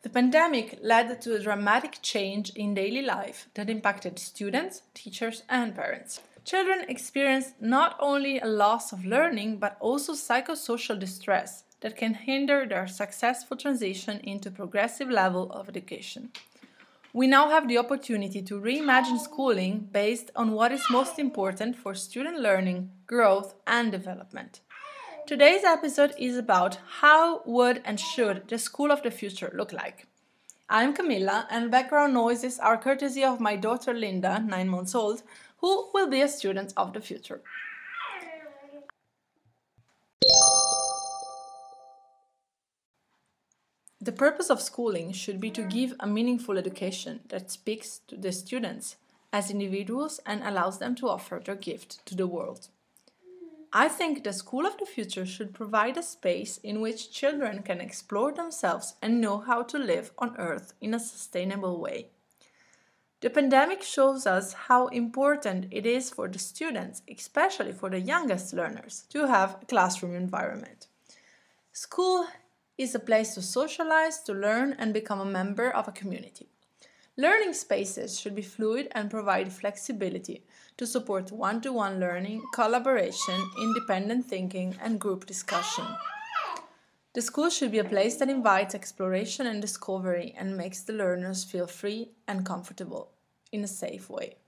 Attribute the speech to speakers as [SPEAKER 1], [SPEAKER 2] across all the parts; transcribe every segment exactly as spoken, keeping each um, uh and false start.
[SPEAKER 1] The pandemic led to a dramatic change in daily life that impacted students, teachers, and parents. Children experienced not only a loss of learning but also psychosocial distress that can hinder their successful transition into a progressive level of education. We now have the opportunity to reimagine schooling based on what is most important for student learning, growth, and development. Today's episode is about how would and should the school of the future look like. I'm Camilla, and background noises are courtesy of my daughter Linda, nine months old, who will be a student of the future. The purpose of schooling should be to give a meaningful education that speaks to the students as individuals and allows them to offer their gift to the world. I think the school of the future should provide a space in which children can explore themselves and know how to live on Earth in a sustainable way. The pandemic shows us how important it is for the students, especially for the youngest learners, to have a classroom environment. School is a place to socialize, to learn, and become a member of a community. Learning spaces should be fluid and provide flexibility to support one-to-one learning, collaboration, independent thinking, and group discussion. The school should be a place that invites exploration and discovery and makes the learners feel free and comfortable in a safe way.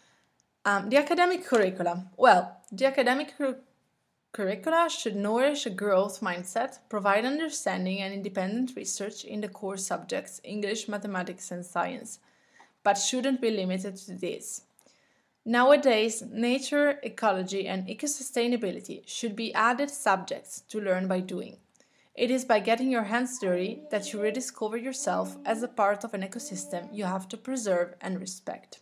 [SPEAKER 1] Um, the academic curricula. Well, the academic cur- curricula should nourish a growth mindset, provide understanding and independent research in the core subjects English, mathematics, and science, but shouldn't be limited to this. Nowadays, nature, ecology, and eco-sustainability should be added subjects to learn by doing. It is by getting your hands dirty that you rediscover yourself as a part of an ecosystem you have to preserve and respect.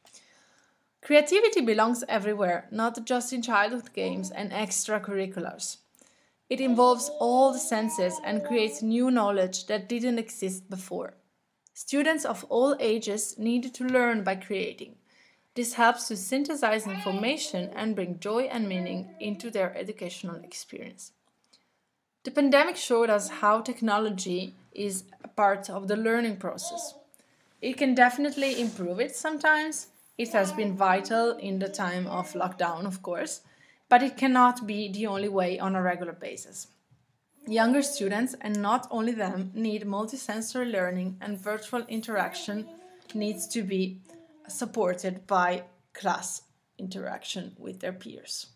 [SPEAKER 1] Creativity belongs everywhere, not just in childhood games and extracurriculars. It involves all the senses and creates new knowledge that didn't exist before. Students of all ages need to learn by creating. This helps to synthesize information and bring joy and meaning into their educational experience. The pandemic showed us how technology is a part of the learning process. It can definitely improve it sometimes. It has been vital in the time of lockdown, of course, but it cannot be the only way on a regular basis. Younger students, and not only them, need multisensory learning, and virtual interaction needs to be supported by class interaction with their peers.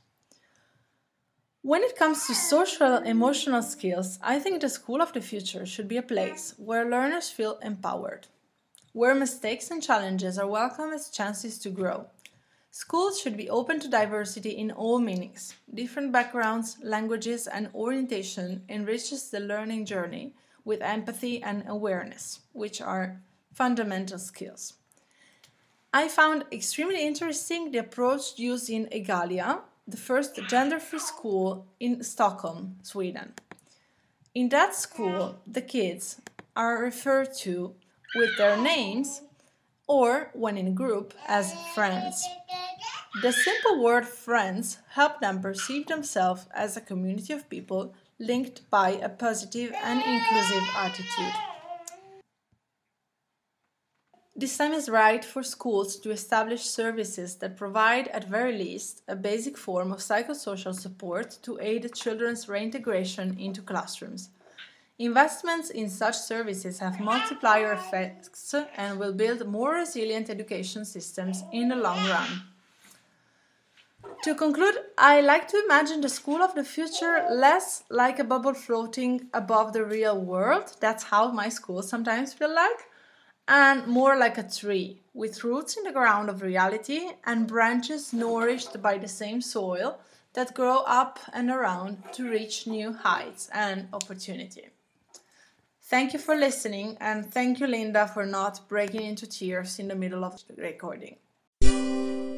[SPEAKER 1] When it comes to social emotional skills, I think the school of the future should be a place where learners feel empowered, where mistakes and challenges are welcome as chances to grow. Schools should be open to diversity in all meanings. Different backgrounds, languages, and orientation enriches the learning journey with empathy and awareness, which are fundamental skills. I found extremely interesting the approach used in Egalia, the first gender-free school in Stockholm, Sweden. In that school, the kids are referred to with their names or, when in a group, as friends. The simple word friends help them perceive themselves as a community of people linked by a positive and inclusive attitude. This time is right for schools to establish services that provide, at very least, a basic form of psychosocial support to aid children's reintegration into classrooms. Investments in such services have multiplier effects and will build more resilient education systems in the long run. To conclude, I like to imagine the school of the future less like a bubble floating above the real world. That's how my schools sometimes feel like. And more like a tree, with roots in the ground of reality and branches nourished by the same soil that grow up and around to reach new heights and opportunity. Thank you for listening, and thank you, Linda, for not breaking into tears in the middle of the recording.